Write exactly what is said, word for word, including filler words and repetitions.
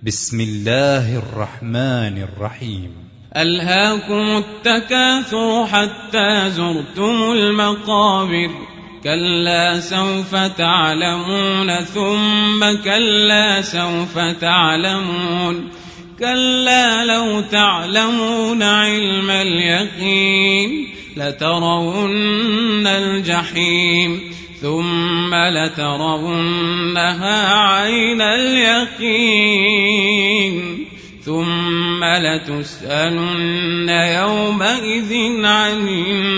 بسم الله الرحمن الرحيم. ألهاكم التكاثر حتى زرتم المقابر، كلا سوف تعلمون ثم كلا سوف تعلمون، كلا لو تعلمون علم اليقين لترون الجحيم ثم لترونها عين اليقين ثم لتسألن يومئذ عن